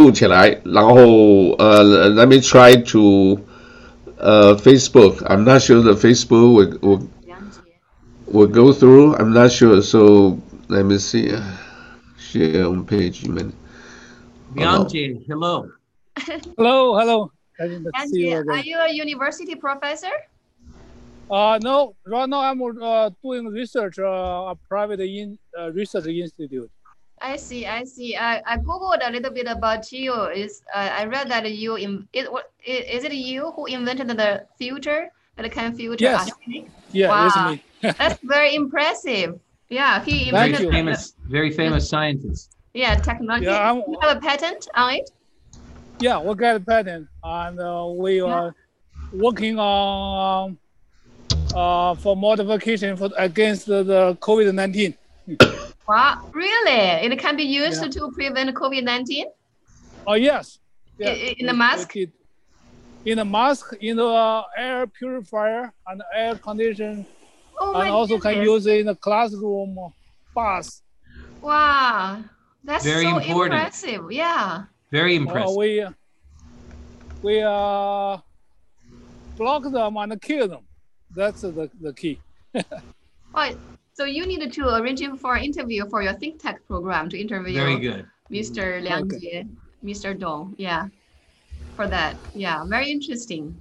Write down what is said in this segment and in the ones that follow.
录起来，然后let me try to Facebook. I'm not sure the Facebook will go through. I'm not sure. So let me see. Share on page. Bianchi, hello. Hello, hello. I didn't see you Are again. you a university professor? No, right now I'm doing research, a private research institute. I see. I googled a little bit about you. I read that is it you who invented the filter that can filter Yes. arsenic? Yeah, Wow. it's me. That's very impressive. Yeah, he Thank invented you. Very famous scientist. Yeah, technology. Yeah, you have a patent on it? Yeah, we got a patent, and we are working on for modification against the COVID-19. Wow, really? It can be used to prevent COVID-19? Oh yes. Yeah. In the mask? In the mask, in the air purifier and air condition, and also goodness. can use it in the classroom, bus. Wow, that's very so important. Impressive. Yeah. Very impressive. We block them and kill them. That's the key. Right. So you need to arrange for an interview for your think tech program to interview Very good. Mr. Liang Jie, Mr. Dong. Yeah. For that. Yeah, very interesting.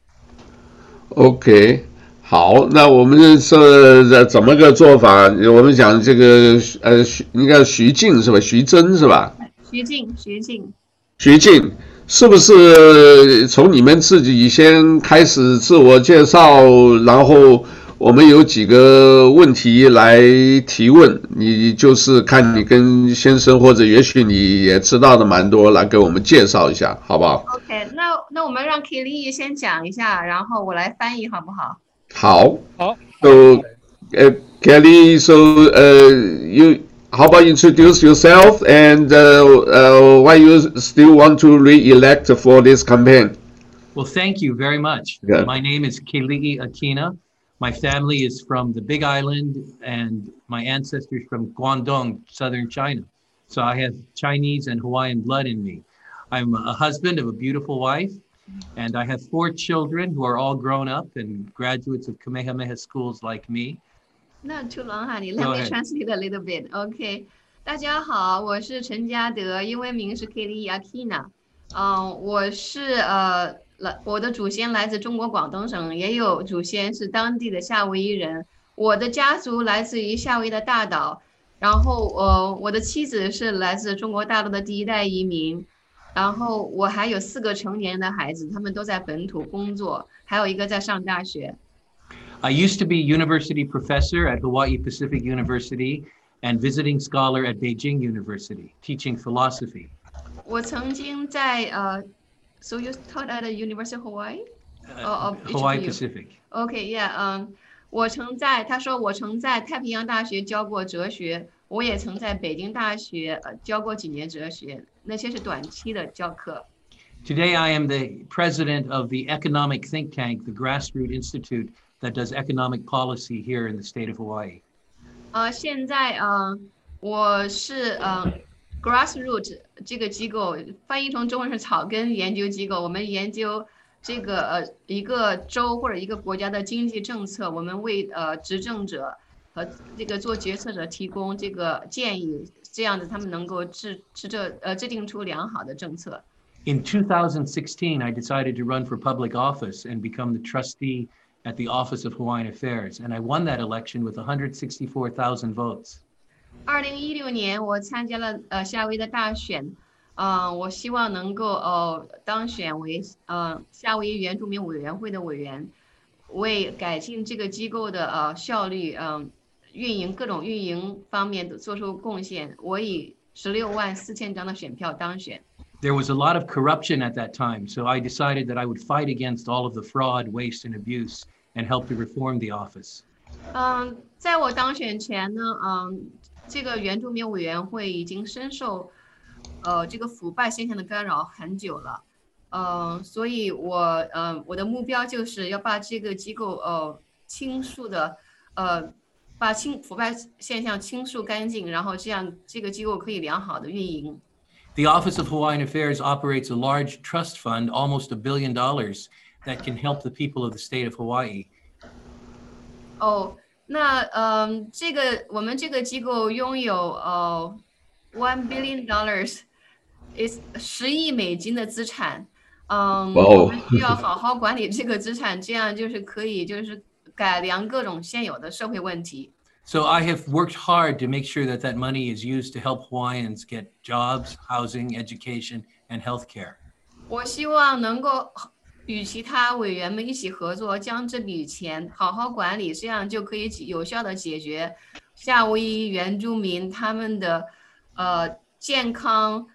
OK， 好，那我们是怎么个做法？我们讲这个应该是徐静是吧？徐峥是吧？ 徐静是不是从你们自己先开始自我介绍，然后我们有几个问题来提问，你就是看你跟先生或者也许你也知道的蛮多，来给我们介绍一下，好不好 ？OK， 那我们让 Kelly 先讲一下，然后我来翻译，好不好？ 好。 好。 So, Kelly, so how about you introduce yourself and why you still want to re-elect for this campaign? Well, thank you very much. Yeah. My name is Kelly Akina. My family is from the Big Island and my ancestors from Guangdong, southern China. So I have Chinese and Hawaiian blood in me. I'm a husband of a beautiful wife, and I have 4 children who are all grown up and graduates of Kamehameha schools like me. Let me translate a little bit. OK， 大家好，我是陈嘉德，英文名是 Kelly Akina。我是我的祖先来自中国广东省，也有祖先是当地的夏威夷人。我的家族来自于夏威夷的大岛，然后我的妻子是来自中国大陆的第1代移民，然后我还有4个成年的孩子，他们都在本土工作，还有一个在上大学。 I used to be university professor at Hawaii Pacific University and visiting scholar at Beijing University, teaching philosophy. 我曾经在So you taught at the University of Hawaii? Hawaii Pacific. Okay, yeah. 他说我曾在太平洋大学教过哲学，我也曾在北京大学教过几年哲学，那些是短期的教课。 Today I am the president of the economic think tank, the Grassroot Institute, that does economic policy here in the state of Hawaii. 现在我是Grassroot 这个机构，翻译成中文是草根研究机构。我们研究这个一个州或者一个国家的经济政策，我们为执政者和这个做决策者提供这个建议，这样子他们能够制定出良好的政策。 In 2016, I decided to run for public office and become the trustee at the Office of Hawaiian Affairs, and I won that election with 164,000 votes. 2016年，我参加了夏威夷的大选，我希望能够当选为夏威夷原住民委员会的委员，为改进这个机构的效率，各种运营方面都做出贡献。我以164000张的选票当选。 There was a lot of corruption at that time, so I decided that I would fight against all of the fraud, waste, and abuse and help to reform the office. 在我当选前呢，这个原住民委员会已经深受这个腐败现象的干扰很久了，所以我的目标就是要把这个机构倾诉的把腐败现象倾诉干净，然后这样这个机构可以良好的运营。 The Office of Hawaiian Affairs operates a large trust fund, almost $1 billion, that can help the people of the state of Hawaii. 哦，那这个我们这个机构拥有$1 billion， is 10亿美金的资产。我们需要好好管理这个资产，这样就是可以就是改良各种现有的社会问题。 So I have worked hard to make sure that that money is used to help Hawaiians get jobs, housing, education, and healthcare. 我希望能够与其他委员们一起合作，将这笔钱好好管理，这样就可以有效的解决夏威夷原住民他们的健康、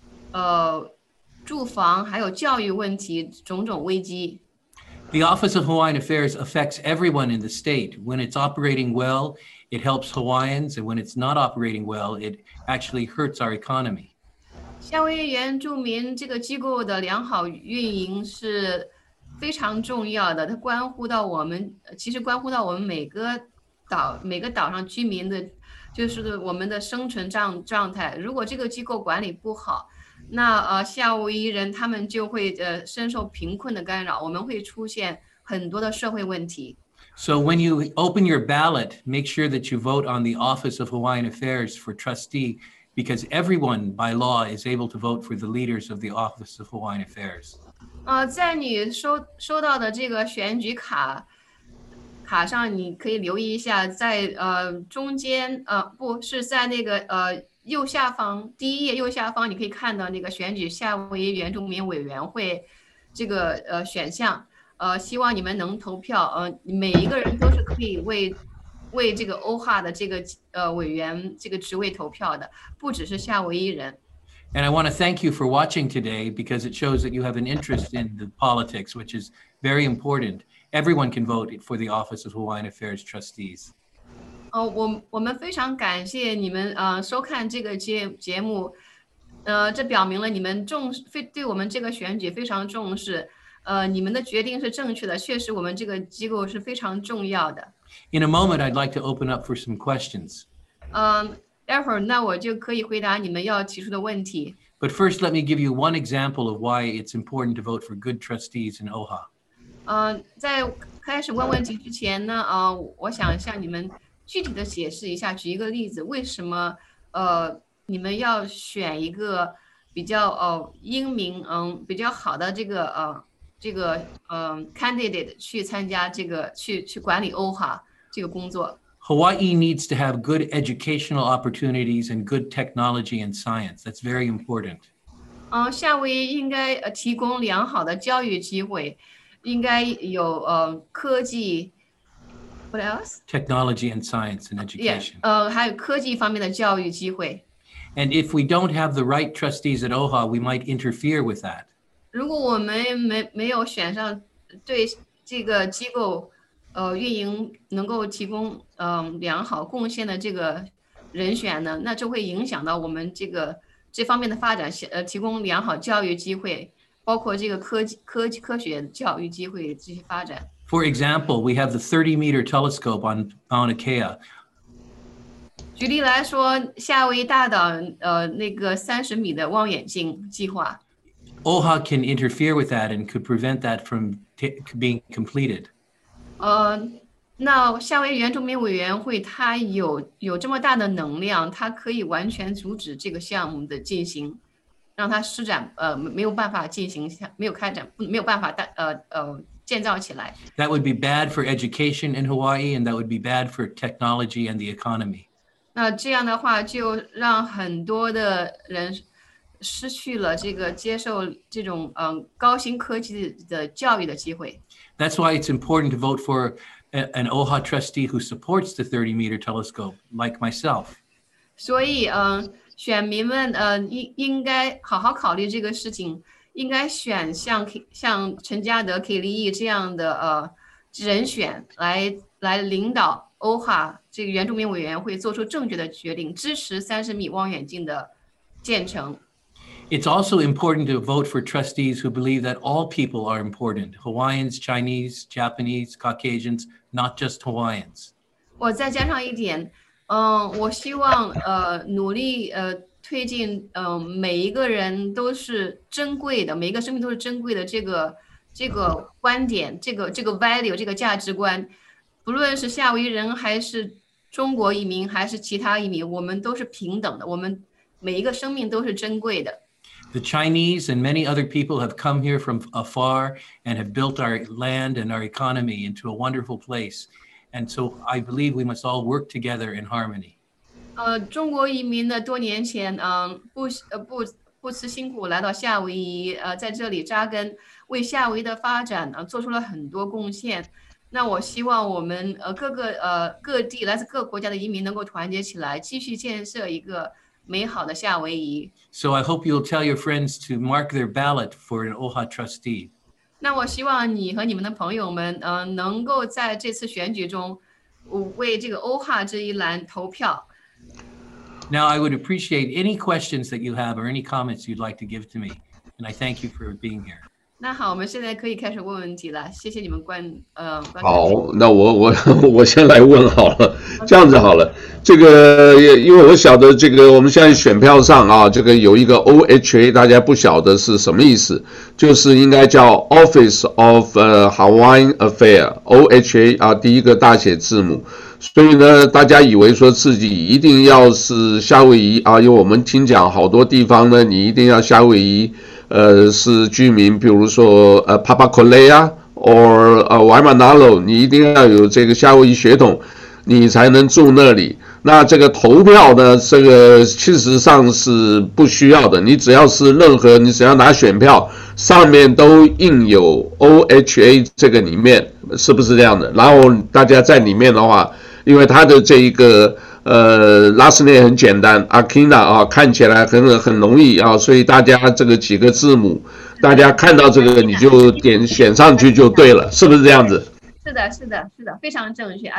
住房还有教育问题种种危机。 The Office of Hawaiian Affairs affects everyone in the state. When it's operating well, it helps Hawaiians, and when it's not operating well, it actually hurts our economy. 夏威夷原住民这个机构的良好运营是非常重要的，它关乎到我们，其实关乎到我们每个岛上居民的，就是我们的生存状态。如果这个机构管理不好，那夏威夷人他们就会深受贫困的干扰，我们会出现很多的社会问题。 So when you open your ballot, make sure that you vote on the Office of Hawaiian Affairs for trustee, because everyone by law is able to vote for the leaders of the Office of Hawaiian Affairs. 在你收到的这个选举卡上，你可以留意一下，在中间不是在那个右下方第一页右下方，你可以看到那个选举夏威夷原住民委员会这个选项。希望你们能投票。每一个人都是可以为这个OHA的这个委员这个职位投票的，不只是夏威夷人。 And I want to thank you for watching today because it shows that you have an interest in the politics, which is very important. Everyone can vote for the Office of Hawaiian Affairs trustees. 我们非常感谢你们收看这个节目，这表明了你们对我们这个选举非常重视。你们的决定是正确的，确实我们这个机构是非常重要的。 In a moment, I'd like to open up for some questions. 待会儿那我就可以回答你们要提出的问题。 But first, let me give you one example of why it's important to vote for good trustees in OHA. 在开始问问题之前呢，我想向你们具体的解释一下，举一个例子，为什么你们要选一个比较英明比较好的这个candidate 去参加这个去管理OHA这个工作。 Hawaii needs to have good educational opportunities and good technology and science. That's very important. 夏威夷应该提供良好的教育机会，应该有科技。What else? Technology and science and education. Yeah, 还有科技方面的教育机会。 And if we don't have the right trustees at OHA, we might interfere with that. 如果我们没有选上对这个机构运营能够提供良好贡献的这个人选呢，那就会影响到我们这方面的发展，提供良好教育机会，包括这个科学教育机会这些发展。 For example, we have the 30-meter telescope on Mauna Kea. 举例来说，夏威夷大岛那个30米的望远镜计划。 OHA can interfere with that and could prevent that from being completed. 那夏威夷原住民委员会它有这么大的能量，它可以完全阻止这个项目的进行，让它施展没有办法进行，没有开展，没有办法建造起来。 That would be bad for education in Hawaii, and that would be bad for technology and the economy. 那这样的话，就让很多的人失去了这个接受这种高新科技的教育的机会。 That's why it's important to vote for an OHA trustee who supports the 30-meter telescope, like myself. 所以选民们应该好好考虑这个事情，应该选像陈嘉德、K. 利益这样的人选来领导OHA这个原住民委员会做出正确的决定，支持30米望远镜的建成。 It's also important to vote for trustees who believe that all people are important, Hawaiians, Chinese, Japanese, Caucasians, not just Hawaiians. 我再加上一点，我希望努力推进每一个人都是珍贵的，每一个生命都是珍贵的这个观点，这个 value 这个价值观，不论是夏威夷人还是中国移民还是其他移民，我们都是平等的，我们每一个生命都是珍贵的。 The Chinese and many other people have come here from afar and have built our land and our economy into a wonderful place. And so I believe we must all work together in harmony. 中国移民的多年前，不辞辛苦来到夏威夷，在这里扎根，为夏威夷的发展做出了很多贡献。那我希望我们各地来自各国家的移民能够团结起来，继续建设一个美好的夏威夷。 So I hope you'll tell your friends to mark their ballot for an OHA trustee. 那我希望你和你们的朋友们，能够在这次选举中，为这个OHA这一栏投票。 Now I would appreciate any questions that you have or any comments you'd like to give to me, and I thank you for being here. 那好，我们现在可以开始问问题了。谢谢你们观好，那我先来问好了，这样子好了。这个因为我晓得这个我们现在选票上啊，这个有一个 OHA， 大家不晓得是什么意思，就是应该叫 Office of Hawaiian Affairs OHA 啊，第一个大写字母。所以呢，大家以为说自己一定要是夏威夷啊，因为我们听讲好多地方呢，你一定要夏威夷是居民，比如说Papakolea or Waimanalo， 你一定要有这个夏威夷血统，你才能住那里。那这个投票呢，这个事实上是不需要的，你只要是你只要拿选票，上面都印有 OHA 这个里面，是不是这样的？然后大家在里面的话，因为他的这一个last name 很简单 ，Akina 啊，看起来很容易啊，所以大家这个几个字母，大家看到这个你就选上去就对了，是不是这样子？ 是的，非常正确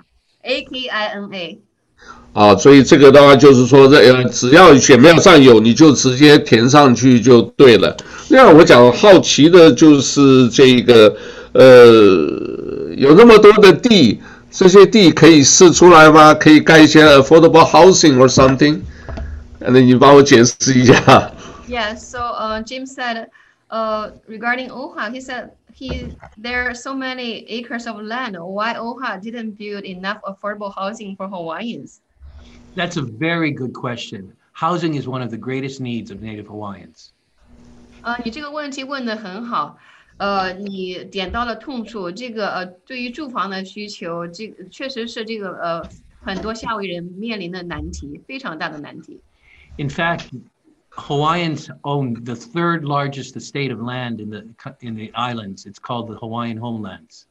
，Akina，Akina。 啊，所以这个的话就是说，只要选票上有，你就直接填上去就对了。那我讲好奇的就是这个，有那么多的地，这些地可以试出来吗？可以盖一些 affordable housing or something？ 那你帮我解释一下。 Yeah, so Jim said, regarding OHA, he said there are so many acres of land. Why OHA didn't build enough affordable housing for Hawaiians? That's a very good question. Housing is one of the greatest needs of Native Hawaiians. 你这个问题问得很好，你点到了痛处。这个对于住房的需求，这个确实是这个很多夏威夷人面临的难题，非常大的难题。 In fact, Hawaiians own the third largest estate of land in the islands. It's called the Hawaiian homelands.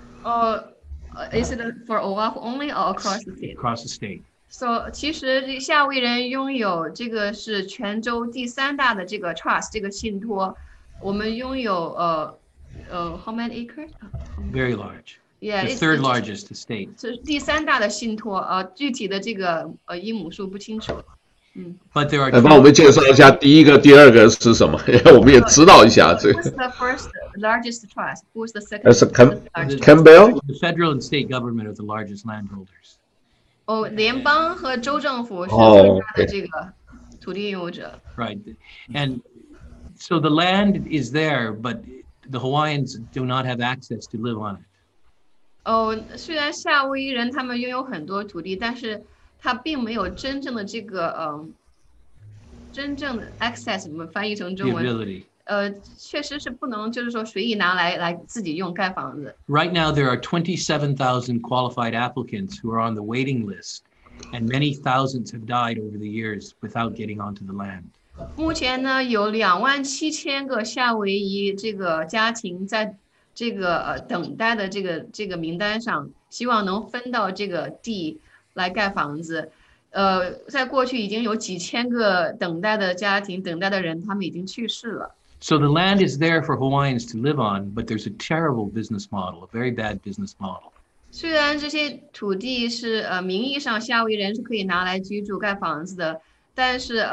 Is it for Oahu only or across the state? Across the state. So 其实夏威夷人拥有这个是全州第3大的这个 trust 这个信托，我们拥有how many acres? Very large. Yeah, the third largest estate. 是第3大的信托，具体的这个英亩数不清楚。 But there are. 帮我们介绍一下第一个、第二个是什么？我们也知道一下这个。 Who's the first largest trust? Who's the second? That's Campbell. The federal and state government are the largest landholders. 联邦和州政府是最大的这个土地拥有者。 Right, and so the land is there, but the Hawaiians do not have access to live on it. 虽然夏威夷人他们拥有很多土地，但是他并没有真正的这个真正的 access， 我们翻译成中文。 The ability. 确实是不能，就是说随意拿来自己用盖房子。 Right now, there are 27,000 qualified applicants who are on the waiting list, and many thousands have died over the years without getting onto the land. 目前呢，有27000个夏威夷这个家庭在这个等待的这个名单上，希望能分到这个地来盖房子。在过去已经有几千个等待的家庭、等待的人，他们已经去世了。 So the land is there for Hawaiians to live on, but there's a terrible business model, a very bad business model. 虽然这些土地是名义上夏威夷人是可以拿来居住盖房子的，但是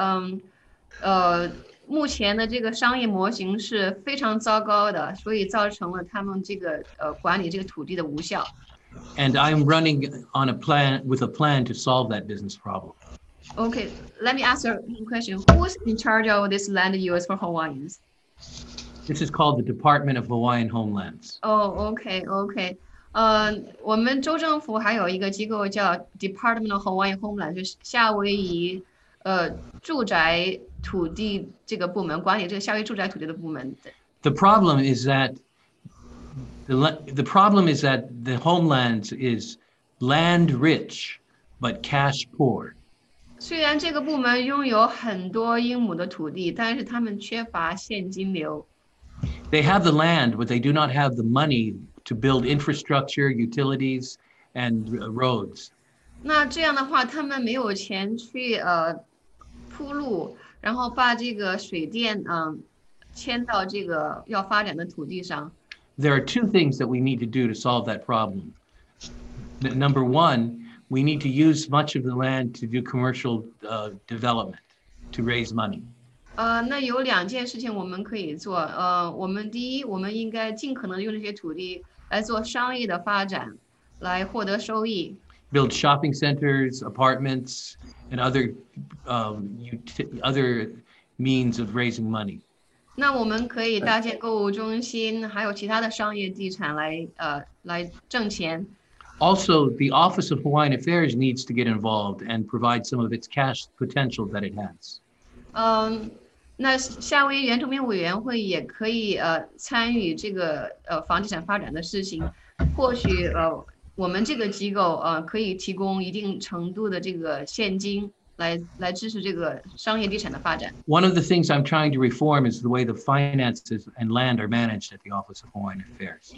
目前的这个商业模型是非常糟糕的，所以造成了他们这个管理这个土地的无效。 And I'm running on with a plan to solve that business problem. Okay, let me ask you a question. Who's in charge of this land use for Hawaiians? This is called the Department of Hawaiian Homelands. Oh, okay, okay. 我们州政府还有一个机构叫 Department of Hawaiian Homeland，就是夏威夷住宅土地这个部门管理这个夏威夷住宅土地的部门。 The problem is that the homelands is land rich but cash poor. 虽然这个部门拥有很多英亩的土地，但是他们缺乏现金流。 They have the land, but they do not have the money to build infrastructure, utilities, and roads. 那这样的话，他们没有钱去铺路，然后把这个水电迁到这个要发展的土地上。 There are two things that we need to do to solve that problem. Number one, we need to use much of the land to do commercial development, to raise money. 那有两件事情我们可以做。我们第一，我们应该尽可能用这些土地来做商业的发展，来获得收益。 Build shopping centers, apartments, and other means of raising money. 那我们可以搭建购物中心，还有其他的商业地产来挣钱。 Also, the Office of Hawaiian Affairs needs to get involved and provide some of its cash potential that it has. 那夏威夷原住民委员会也可以参与这个房地产发展的事情。或许我们这个机构可以提供一定程度的这个现金来支持这个商业地产的发展。 One of the things I'm trying to reform is the way the finances and land are managed at the Office of Hawaiian Affairs.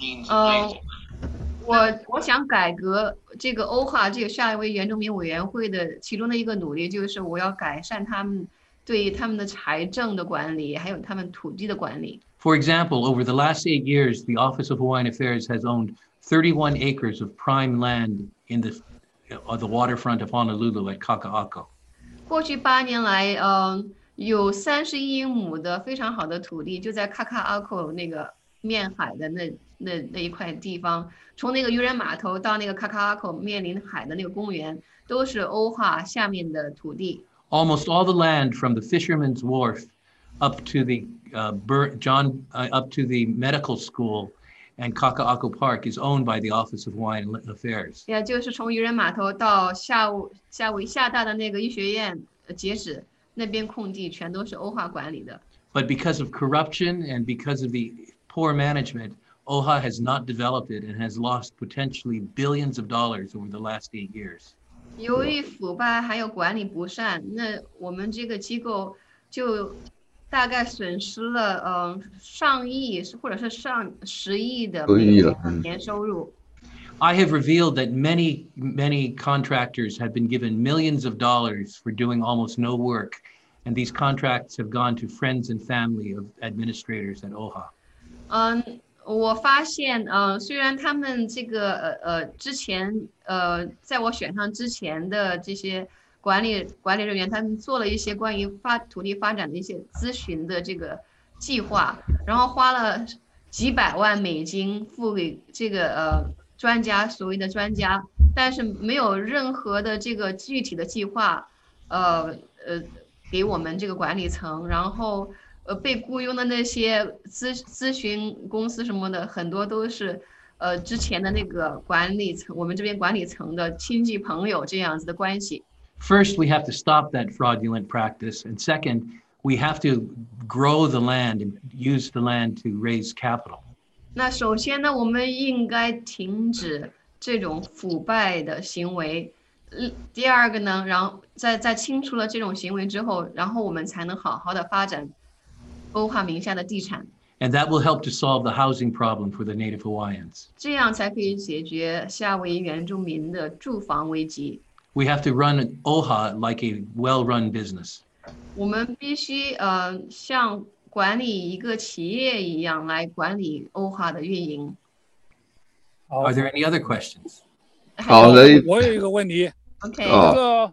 我想改革这个OHA 这个夏威夷原住民委员会的其中的一个努力，就是我要改善他们对他们的财政的管理，还有他们土地的管理。 For example, over the last 8 years, the Office of Hawaiian Affairs has owned 31 acres of prime land in the waterfront of Honolulu at Kaka'ako. 过去8年来，有31英亩的非常好的土地，就在卡卡阿口那个面海的那一块地方，从那个渔人码头到那个卡卡阿口面临海的那个公园，都是OHA下面的土地。 Almost all the land from the Fisherman's Wharf up to the up to the medical school and Kaka'ako Park is owned by the Office of Hawaiian Affairs. 也就是从渔人码头到夏威夷厦大的那个医学院截止，那边空地全都是OHA管理的。 But because of corruption and because of the poor management, OHA has not developed it and has lost potentially billions of dollars over the last 8 years. 由于腐败还有管理不善，那我们这个机构就大概损失了上亿或者是上10亿的年收入。 I have revealed that many contractors have been given millions of dollars for doing almost no work, and these contracts have gone to friends and family of administrators at OHA. 我发现虽然他们这个之前在我选上之前的这些管理人员，他们做了一些关于土地发展的一些咨询的这个计划，然后花了几百万美金付给这个专家，所谓的专家，但是没有任何的这个具体的计划给我们这个管理层，然后被雇佣的那些咨询公司什么的，很多都是之前的那个管理层，我们这边管理层的亲戚朋友这样子的关系。 First, we have to stop that fraudulent practice, and second, we have to grow the land and use the land to raise capital. 那首先呢，我们应该停止这种腐败的行为。第二个呢，然后在清除了这种行为之后，然后我们才能好好的发展OHA名下的地产。 And that will help to solve the housing problem for the Native Hawaiians. 这样才可以解决夏威夷原住民的住房危机。 We have to run OHA like a well-run business. 我们必须像管理一个企业一样来管理OHA的运营。 Are there any other questions? 好的， 我有一个问题。 OK， 这个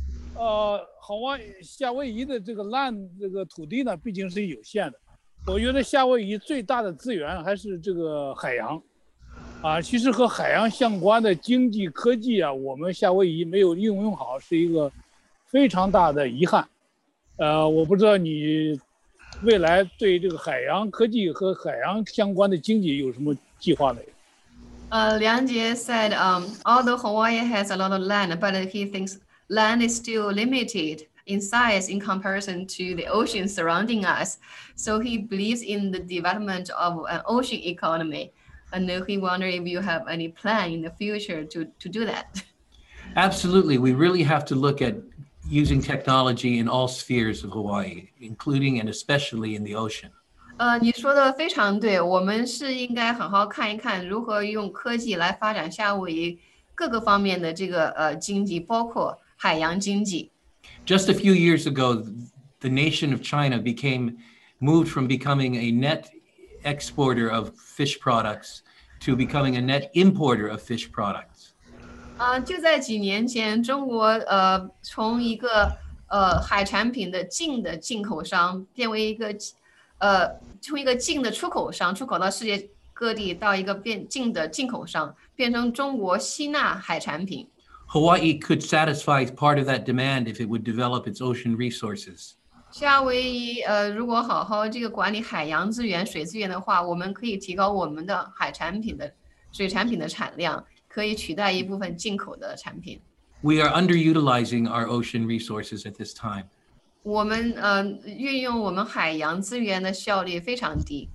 夏威夷的这个这个土地呢，毕竟是有限的。我觉得夏威夷最大的资源还是这个海洋。其实和海洋相关的经济科技我们夏威夷没有应用好，是一个非常大的遗憾。我不知道你未来对这个海洋科技和海洋相关的经济有什么计划没有？ Liang Jie said, although Hawaii has a lot of land, but he thinks land is still limited in size in comparison to the ocean surrounding us. So he believes in the development of an ocean economy. And he wonders if you have any plan in the future to do that. Absolutely. We really have to look at using technology in all spheres of Hawaii, including and especially in the ocean. 你说的非常对，我们是应该好好看一看如何用科技来发展夏威夷各个方面的这个经济，包括海洋经济。 Just a few years ago, the nation of China moved from becoming a net exporter of fish products to becoming a net importer of fish products. 就在几年前，中国从一个海产品的进口商变为一个从一个净的出口商，出口到世界各地，到一个净的进口商，变成中国吸纳海产品。 Hawaii could satisfy part of that demand if it would develop its ocean resources. 夏威夷如果好好这个管理海洋资源、水资源的话，我们可以提高我们的水产品的产量，可以取代一部分进口的产品。 We are underutilizing our ocean resources at this time. 我们运用我们海洋资源的效率非常低。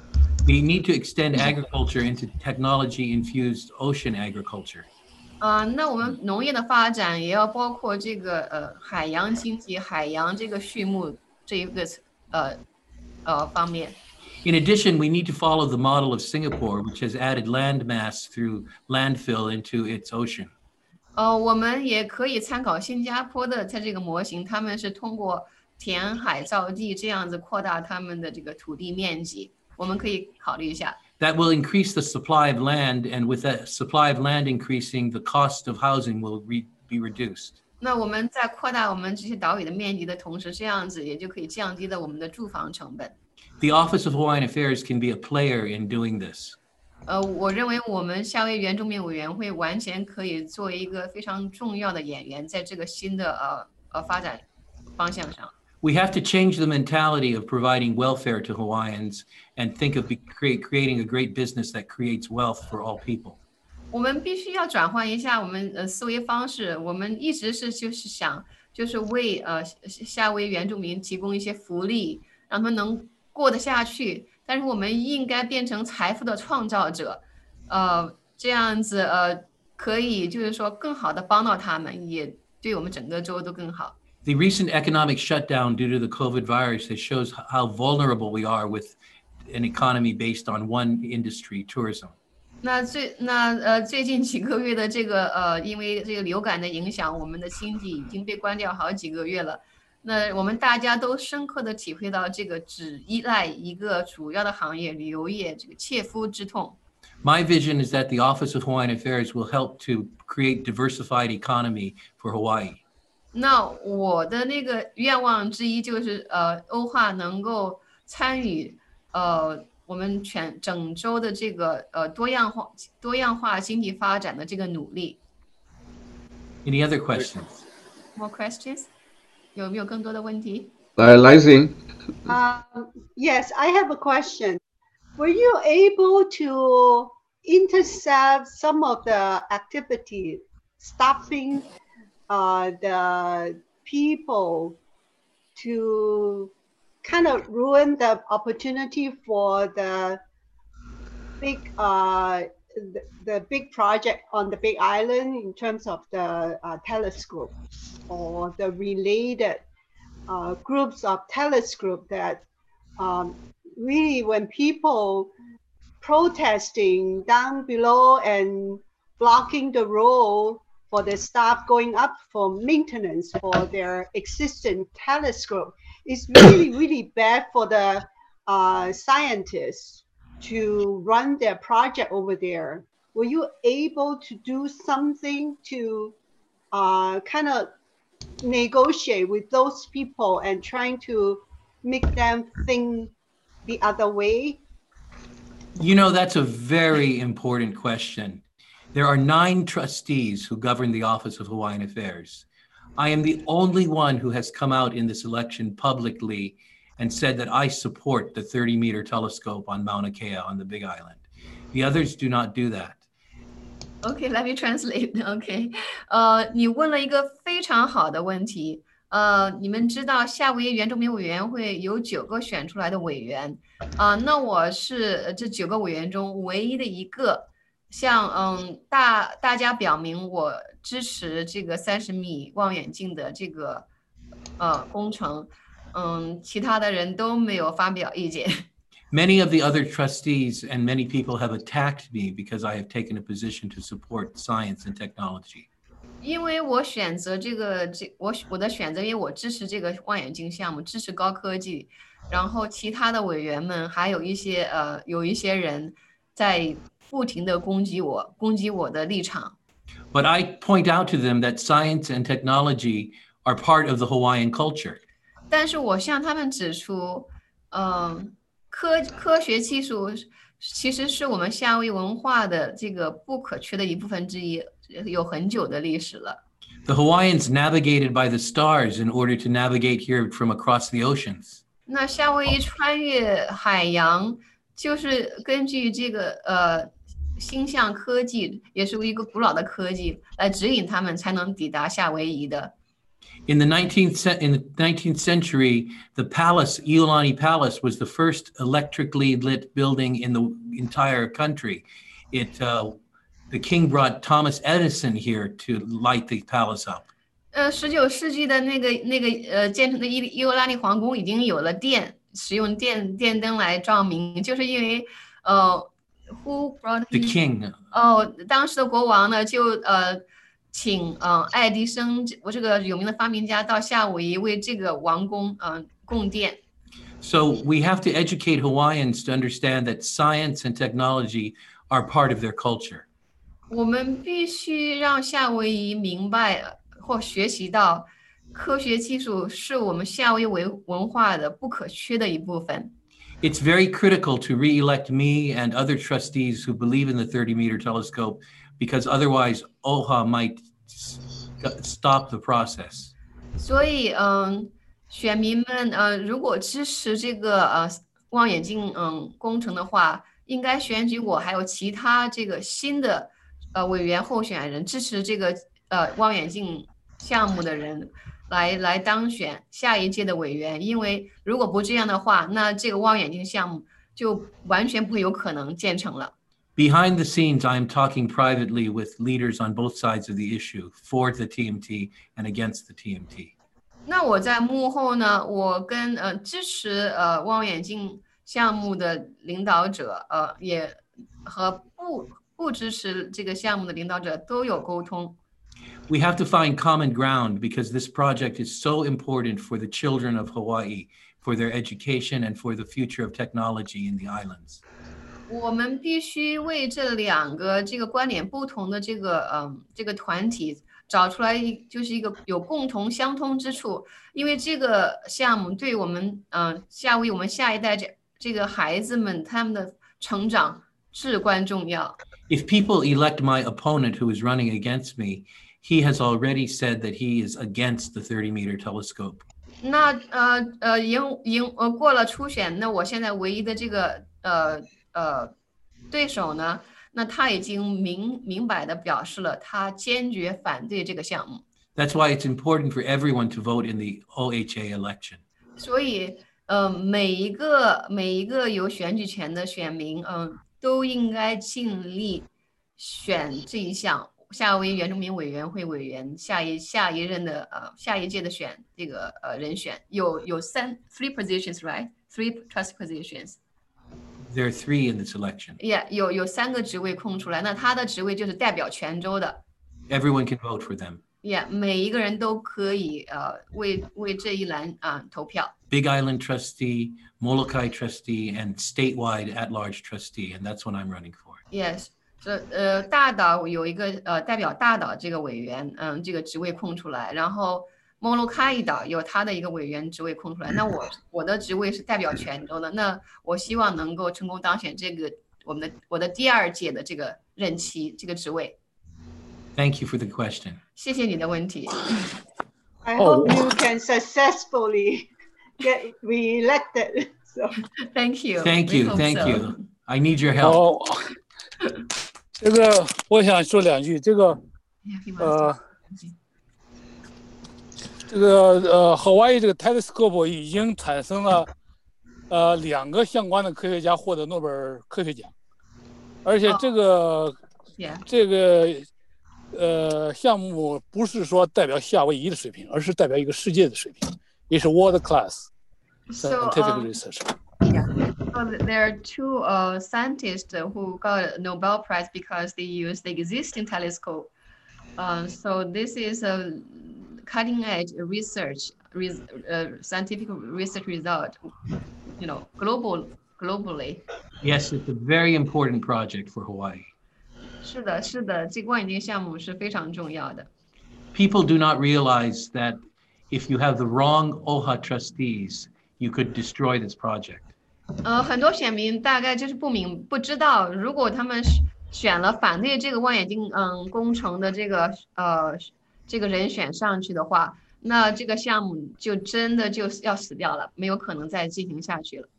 We need to extend agriculture into technology-infused ocean agriculture. 那我们农业的发展也要包括这个海洋经济、海洋这个畜牧这一个方面。 In addition, we need to follow the model of Singapore, which has added land mass through landfill into its ocean. 我们也可以参考新加坡的它这个模型，他们是通过填海造地这样子扩大他们的这个土地面积，我们可以考虑一下。 That will increase the supply of land, and with that supply of land increasing, the cost of housing will be reduced. 那我们在扩大我们这些岛屿的面积的同时，这样子也就可以降低了我们的住房成本。 The Office of Hawaiian Affairs can be a player in doing this. 我认为我们夏威夷原住民委员会完全可以做一个非常重要的演员，在这个新的发展方向上。 We have to change the mentality of providing welfare to Hawaiians and think of creating a great business that creates wealth for all people. 我们必须要转换一下我们思维方式，我们一直就是想就是为夏威夷原住民提供一些福利，让他们能过得下去。但是我们应该变成财富的创造者，这样子可以就是说更好的帮到他们，也对我们整个州都更好。 The recent economic shutdown due to the COVID virus shows how vulnerable we are with an economy based on one industry, tourism. 最近几个月的这个因为这个流感的影响，我们的经济已经被关掉好几个月了。那我们大家都深刻的体会到这个只依赖一个主要的行业旅游业这个切肤之痛。 My vision is that the Office of Hawaiian Affairs will help to create diversified economy for Hawaii. 那我的那个愿望之一就是欧化能够参与我们整州的这个多样化经济发展的这个努力。 Any other questions? More questions? 有没有更多的问题？ 来行。 Yes, I have a question. Were you able to intercept some of the activity stopping the people to kind of ruin the opportunity for the big project on the Big Island in terms of the telescope or the related groups of telescope that really when people protesting down below and blocking the road for the staff going up for maintenance for their existing telescope, it's really, really bad for the scientists to run their project over there. Were you able to do something to kind of negotiate with those people and trying to make them think the other way? You know, that's a very important question. There are 9 trustees who govern the Office of Hawaiian Affairs. I am the only one who has come out in this election publicly and said that I support the 30-meter telescope on Mauna Kea on the Big Island. The others do not do that. Okay, let me translate. Okay, 你问了一个非常好的问题。你们知道夏威夷原住民委员会有9个选出来的委员，那我是这9个委员中唯一的一个向大家表明我支持这个30米望远镜的这个工程，其他的人都没有发表意见。 Many of the other trustees and many people have attacked me because I have taken a position to support science and technology. 因为我选择我的选择，因为我支持这个望远镜项目，支持高科技。然后其他的委员们还有一些人在不停的攻击我的立场。 But I point out to them that science and technology are part of the Hawaiian culture. 但是我向他们指出，科学技术其实是我们夏威夷文化的这个不可缺的一部分之一，有很久的历史了。 The Hawaiians navigated by the stars in order to navigate here from across the oceans. 那夏威夷穿越海洋，就是根据这个星象科技，也是一个古老的科技来指引他们才能抵达夏威夷的。 In the 19th century, the palace, Iolani Palace, was the first electrically lit building in the entire country. The king brought Thomas Edison here to light the palace up. 19世纪的那个建成的伊欧拉尼皇宫已经有了使用电灯来照明，就是因为who brought the king? 当时的国王呢就请爱迪生我这个有名的发明家到夏威夷为这个王宫供电。 So we have to educate Hawaiians to understand that science and technology are part of their culture. 我们必须让夏威夷明白或学习到，科学技术是我们夏威夷文化的不可缺的一部分。 It's very critical to re-elect me and other trustees who believe in the 30-meter telescope, because otherwise OHA might stop the process. 所以选民们如果支持这个望远镜工程的话，应该选举我还有其他这个新的委员候选人，支持这个望远镜项目的人来当选下一届的委员。因为如果不这样的话，那这个望远镜项目就完全不会有可能建成了。 Behind the scenes, I am talking privately with leaders on both sides of the issue, for the TMT and against the TMT. 那我在幕后呢，我跟支持望远镜项目的领导者也和不支持这个项目的领导者都有沟通。 We have to find common ground because this project is so important for the children of Hawaii, for their education and for the future of technology in the islands. 我们必须为这两个这个观点不同的这个团体找出来就是一个有共同相通之处，因为这个项目对我们夏威夷我们下一代这个孩子们他们的成长至关重要。 If people elect my opponent who is running against me, he has already said that he is against the 30-meter telescope. 那过了初选，那我现在唯一的这个对手呢，那他已经明白的表示了他坚决反对这个项目。 That's why it's important for everyone to vote in the OHA election. 所以每一个有选举权的选民都应该尽力选这一项夏威夷原住民委员会委员下一任的下一届的选这个人选有three positions, right? 3 trust positions. There are 3 in this election. Yeah, 有3个职位空出来，那他的职位就是代表全州的。 Everyone can vote for them. Yeah, 每一个人都可以为这一栏投票。 Big Island trustee, Molokai trustee, and statewide at-large trustee, and that's what I'm running for. Yes, 大岛有一个代表大岛这个委员，这个职位空出来，然后Molokai岛有他的一个委员职位空出来，那我的职位是代表全州的，那我希望能够成功当选这个我的第2届的这个任期这个职位。 Thank you for the question. 谢谢你的问题。 I hope you can successfully get reelected. So Thank you. Thank We you. hope Thank so. you. I need your help. 哦，这个我想说两句，这个 Yeah, he wants to- 这个Hawaii 这个 telescope 已经产生了2个相关的科学家获得诺贝尔科学奖，而且这个 Yeah. 这个项目不是说代表夏威夷的水平，而是代表一个世界的水平，也是 world class So, scientific research。 yeah. So there are two scientists who got a Nobel Prize because they used the existing telescope. So this is a cutting edge research, scientific research result, globally. Yes, it's a very important project for Hawaii. 是的，是的，这个望远镜项目是非常重要的。 People do not realize that if you have the wrong OHA trustees, you could destroy this project. 很多选民大概就是不知道，如果他们选了反对这个望远镜工程的这个人选上去的话，那这个项目就真的就要死掉了，没有可能再进行下去了。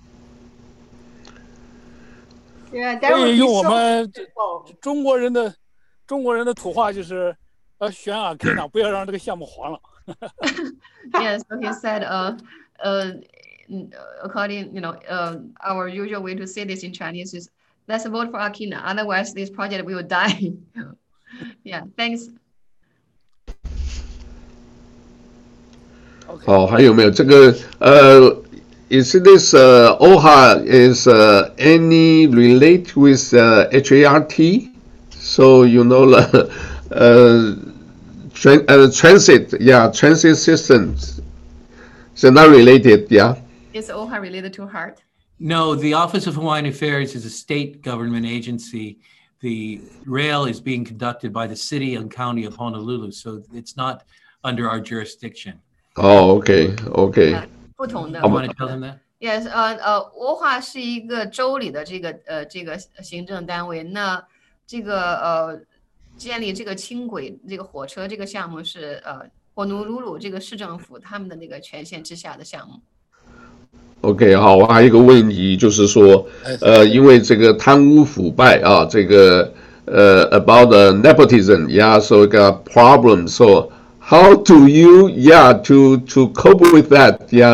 yeah, that 所 would 以 be 用我 so 们 beautiful. 中国人的土话就是选Akina，不要让这个项目黄了。 Yes, so he said, according, our usual way to say this in Chinese is, let's vote for Akina, otherwise this project will die. Yeah, thanks. 好，还有没有这个is this OHA is any relate with HART? So you know transit, yeah, transit systems. So not related, yeah. Is OHA related to heart? No, the Office of Hawaiian Affairs is a state government agency. The rail is being conducted by the city and county of Honolulu, so it's not under our jurisdiction. Oh, okay, okay. 不同的。 You want to tell them that? Yes, OHA 是一个州里的这个行政单位。那这个建立这个轻轨这个火车这个项目是火奴鲁鲁这个市政府他们的那个权限之下的项目。 OK， 好，我还有一个问题，就是说，因为这个贪污腐败啊，这个about the nepotism, yeah, so got problems. So how do you, yeah, to cope with that, yeah,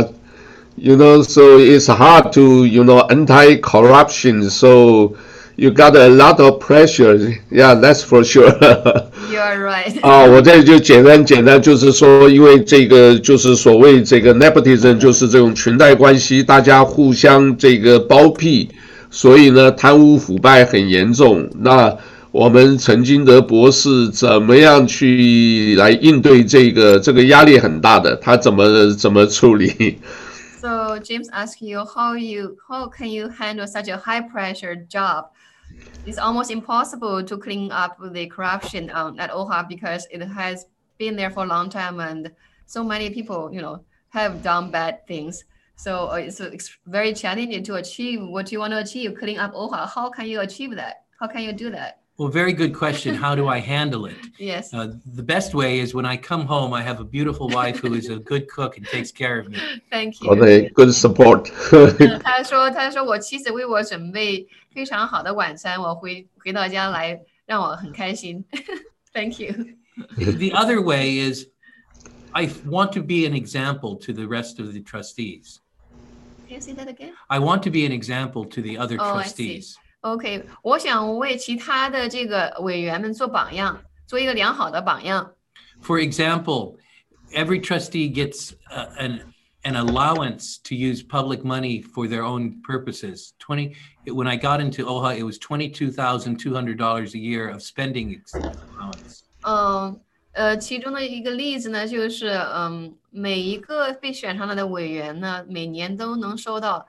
so it's hard to, anti-corruption. So you got a lot of pressure, yeah, that's for sure. You are right. 我这就简单就是说，因为这个就是所谓这个 nepotism， 就是这种裙带关系，大家互相这个包庇，所以呢，贪污腐败很严重。那我们陈金德博士怎么样去来应对这个压力很大的，他怎么处理？ So James asked you how can you handle such a high pressure job? It's almost impossible to clean up the corruption at OHA because it has been there for a long time and so many people, have done bad things. So it's very challenging to achieve what you want to achieve, clean up OHA. How can you achieve that? How can you do that? Well, very good question. How do I handle it? Yes. The best way is when I come home, I have a beautiful wife who is a good cook and takes care of me. Thank you. Okay, good support. 他说我妻子为我准备非常好的晚餐，我回到家来让我很开心。Thank you. The other way is I want to be an example to the rest of the trustees. Can you say that again? I want to be an example to the other Oh, I see. trustees. OK， 我想为其他的这个委员们做榜样，做一个良好的榜样。 For example, every trustee gets an allowance to use public money for their own purposes. When I got into OHA, it was $22,200 a year of spending allowance. 其中的一个例子呢，就是每一个被选上来的委员呢，每年都能收到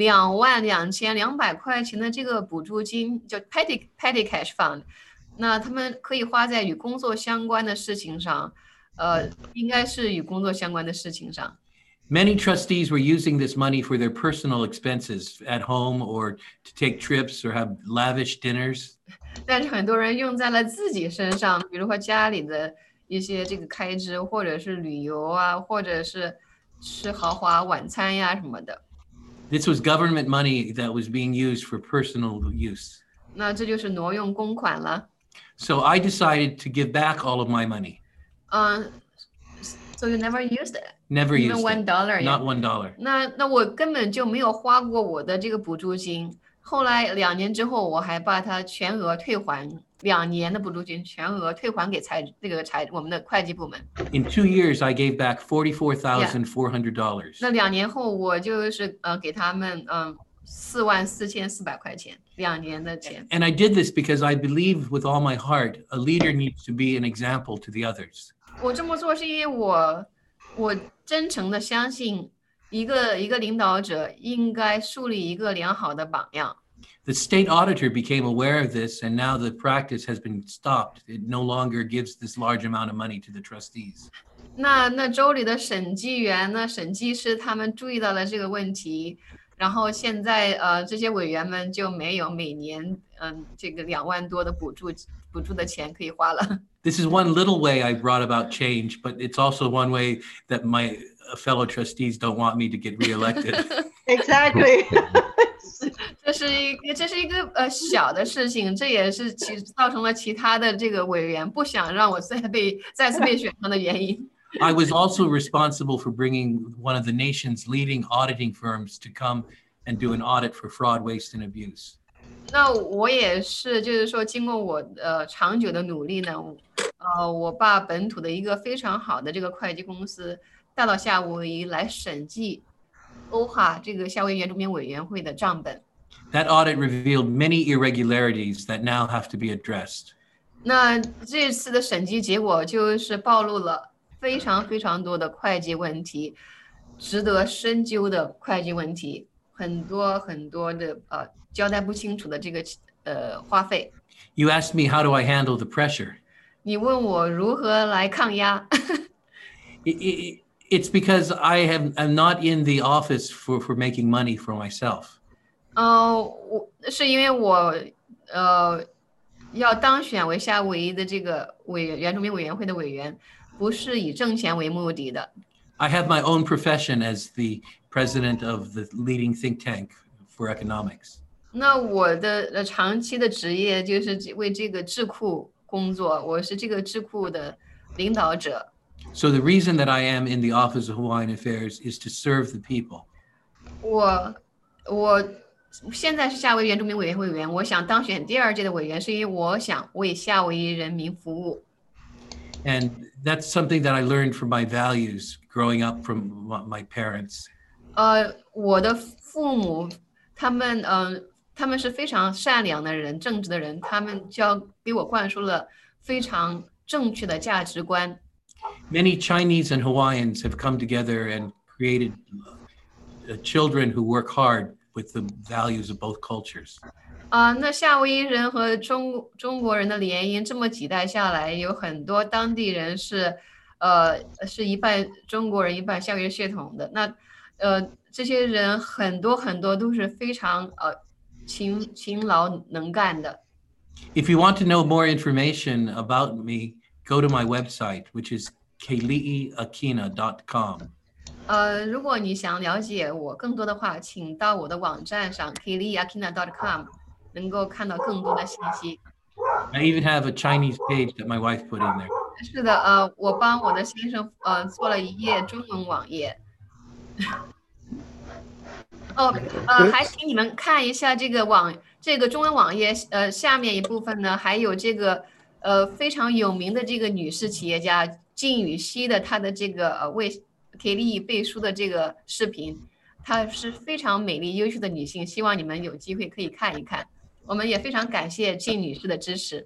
22,200块钱的这个补助金，叫 petty cash fund。那他们可以花在与工作相关的事情上，应该是与工作相关的事情上。 Many trustees were using this money for their personal expenses at home or to take trips or have lavish dinners. 但是很多人用在了自己身上，比如说家里的一些这个开支，或者是旅游啊，或者是吃豪华晚餐呀什么的。 This was government money that was being used for personal use. 那这就是挪用公款了。 So I decided to give back all of my money. So you never used it? Never Even used it. $1? Not $1. 那我根本就没有花过我的这个补助金。后来2年之后，我还把它全额退还，2年的补助金全额退还给我们的会计部门。 In 2 years, I gave back $44,400. 那2年后，我就是给他们44400块钱，2年的钱。 And I did this because I believe with all my heart, a leader needs to be an example to the others. 我这么做是因为我真诚的相信一个领导者应该树立一个良好的榜样。 The state auditor became aware of this, and now the practice has been stopped. It no longer gives this large amount of money to the trustees. 那州里的审计员呢、审计师他们注意到了这个问题，然后现在这些委员们就没有每年这个2万多的补助的钱可以花了。 This is one little way I brought about change, but it's also one way that my fellow trustees don't want me to get reelected. Exactly. 这是一个小的事情，这也是造成了其他的这个委员不想让我再次被选上的原因。 I was also responsible for bringing one of the nation's leading auditing firms to come and do an audit for fraud, waste, and abuse. 那我也是，就是说，经过我长久的努力呢，我把本土的一个非常好的这个会计公司带到夏威夷来审计OHA 这个夏威夷原住民委员会的账本。 That audit revealed many irregularities that now have to be addressed. 那这次的审计结果就是暴露了非常非常多的会计问题，值得深究的会计问题，很多很多的交代不清楚的这个花费。 You asked me how do I handle the pressure. 你问我如何来抗压？ It's because I'm not in the office for making money for myself. 是因为我要当选为夏威夷的这个原住民委员会的委员，不是以挣钱为目的的。 I have my own profession as the president of the leading think tank for economics. 那我的长期的职业就是为这个智库工作，我是这个智库的领导者。 So the reason that I am in the Office of Hawaiian Affairs is to serve the people. 我现在是夏威夷原住民委员会委员，我想当选第2届的委员，是因为我想为夏威夷人民服务。 And that's something that I learned from my values growing up from my parents. 我的父母他们是非常善良的人，正直的人，他们给我灌输了非常正确的价值观。 Many Chinese and Hawaiians have come together and created children who work hard with the values of both cultures. 那夏威夷人和中国人的联姻，这么几代下来，有很多当地人是一半中国人，一半夏威夷血统的。那这些人很多很多都是非常勤劳能干的。 If you want to know more information about me, go to my website, which is keliiakina.com. 如果你想了解我更多的话，请到我的网站上 keliiakina.com， 能够看到更多的信息。 I even have a Chinese page that my wife put in there. 是的，我帮我的先生做了一页中文网页。还请你们看一下这个中文网页，下面一部分呢，还有这个非常有名的这个女士企业家靳禹锡的她的这个为Kelly背书的这个视频，她是非常美丽优秀的女性，希望你们有机会可以看一看。我们也非常感谢靳女士的支持。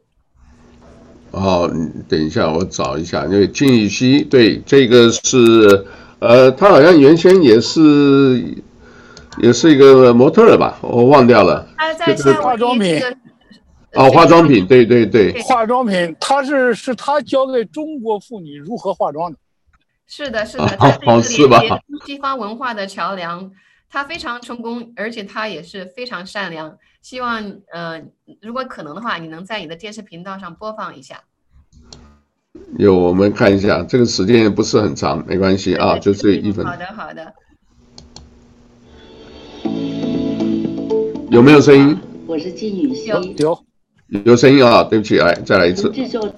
等一下，我找一下，因为靳禹锡，对，这个是他好像原先也是一个模特吧，我忘掉了。 他在化妆品。 化妆品，对对对。 化妆品，是他教给中国妇女如何化妆的。 是的，是的，他是一个连接东西方文化的桥梁，他非常成功，而且他也是非常善良。希望如果可能的话，你能在你的电视频道上播放一下。 有，我们看一下，这个时间也不是很长，没关系啊，就这1分。 好的，好的。 有没有声音？ 我是金宇熙。 有声音啊，对不起，来再来一次。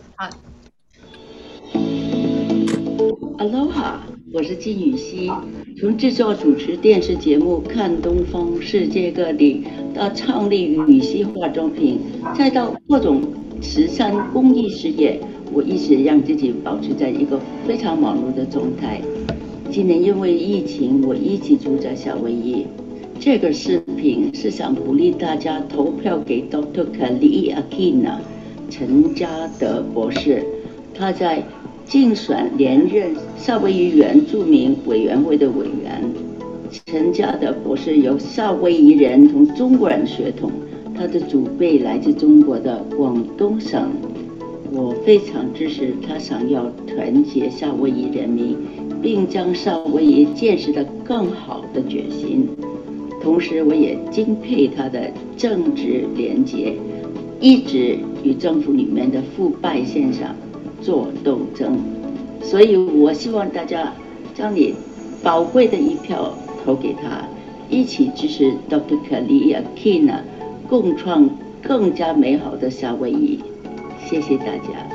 Aloha， 我是金宇熙。从制作主持电视节目《看东方世界各地》，到创立宇熙化妆品，再到各种慈善公益事业，我一直让自己保持在一个非常忙碌的状态。今年因为疫情，我一直住在夏威夷。这个视频是想鼓励大家投票给 Dr. Kali'i Akina 陈家德博士，他在竞选连任夏威夷原住民委员会的委员。陈家德博士由夏威夷人同中国人血统，他的祖辈来自中国的广东省。我非常支持他想要团结夏威夷人民，并将夏威夷建设得更好的决心。同时，我也敬佩他的政治廉洁，一直与政府里面的腐败现象做斗争。所以我希望大家将你宝贵的一票投给他，一起支持 Dr. Kali'i Akina， 共创更加美好的夏威夷。谢谢大家。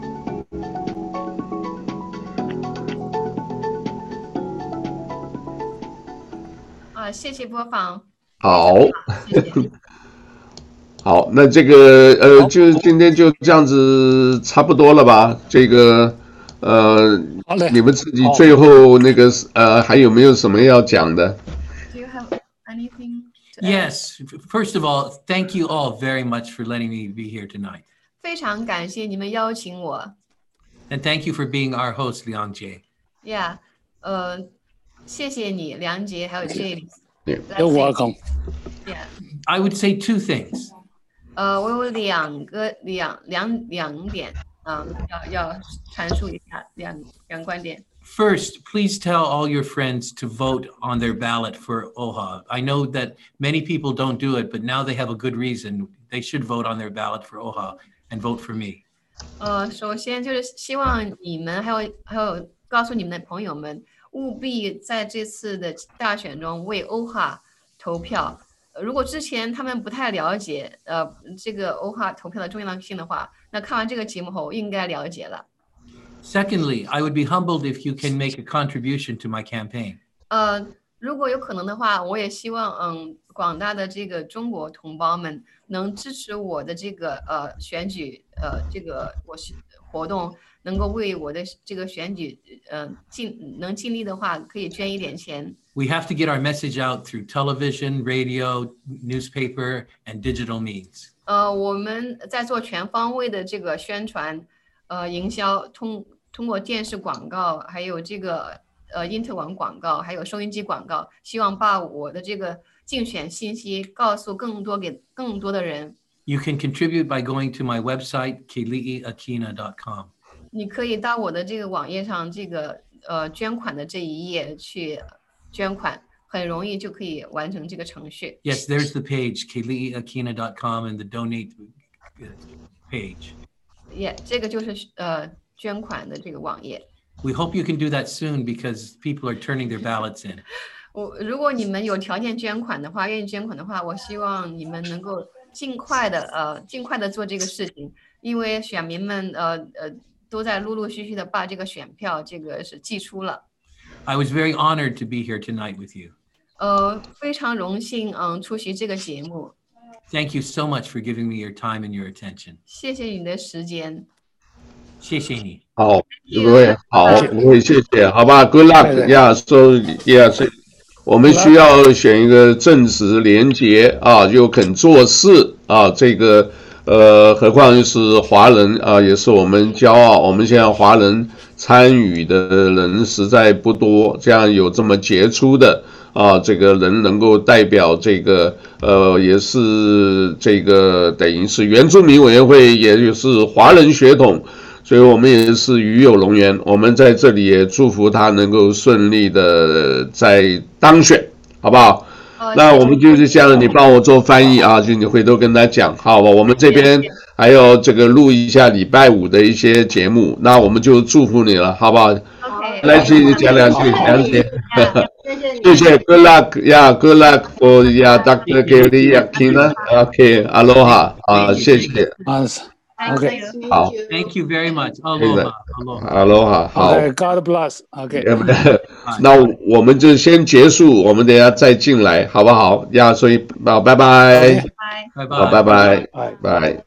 谢谢播放。 好， 谢谢。 好，那这个就今天就这样子差不多了吧？这个你们自己最后那个还有没有什么要讲的 Do you have anything to Yes. First of all, thank you all very much for letting me be here tonight. 非常感谢你们邀请我。 And thank you for being our host, Liang Jie. Yeah， 谢谢你，梁杰还有 James。 You're welcome. Yeah， I would say two things. 我有两点要阐述一下两观点。 First, please tell all your friends to vote on their ballot for OHA. I know that many people don't do it, but now they have a good reason. They should vote on their ballot for OHA and vote for me. 首先就是希望你们还有告诉你们的朋友们，务必在这次的大选中为OHA投票。如果之前他们不太了解这个OHA投票的重要性的话，那看完这个节目后应该了解了。 Secondly, I would be humbled if you can make a contribution to my campaign. 如果有可能的话，我也希望广大的这个中国同胞们能支持我的这个选举这个活动，能够为我的这个选举能尽力的话，可以捐一点钱。 We have to get our message out through television, radio, newspaper, and digital means. 我们在做全方位的这个宣传营销，通过电视广告，还有这个因特网广告，还有收音机广告，希望把我的这个竞选信息告诉给更多的人。 You can contribute by going to my website, kali'iakina.com. 你可以到我的这个网页上，这个捐款的这一页去捐款，很容易就可以完成这个程序。 Yes, there's the page, kali'iakina.com, and the donate page. Yeah， 这个就是捐款的这个网页。 We hope you can do that soon because people are turning their ballots in. 如果你们有条件捐款的话，愿意捐款的话，我希望你们能够尽快的做这个事情，因为选民们都在陆续的把这个选票这个是寄出了。 I was very honored to be here tonight with you. 非常荣幸出席这个节目。 Thank you so much for giving me your time and your attention. 谢谢你的时间。 谢谢你。 好，不会，好，不会，谢谢，好吧 ，Good luck， 呀，所以我们需要选一个正直廉洁啊，又肯做事啊，这个何况是华人啊，也是我们骄傲。我们现在华人参与的人实在不多，这样有这么杰出的啊，这个人能够代表这个也是这个等于是原住民委员会，也就是华人血统。所以我们也是与有荣焉，我们在这里也祝福他能够顺利的在当选，好不好？那我们就是这样，你帮我做翻译啊，就你回头跟他讲，好吧？我们这边还有这个录一下礼拜5的一些节目，那我们就祝福你了，好不好？ OK， 来，谢谢讲两句，了解。 谢谢你。 谢谢 ，Good luck，yeah，Good luck for Dr. Kelly Akina，OK，Aloha，啊，谢谢 OK， 好 Thank you very much. Aloha. Aloha. ，Aloha，好。 God bless。OK， 那我们就先结束，我们等一下再进来，好不好？呀，所以好，拜拜， 拜。 Bye 好， bye. 拜拜， 拜。 拜。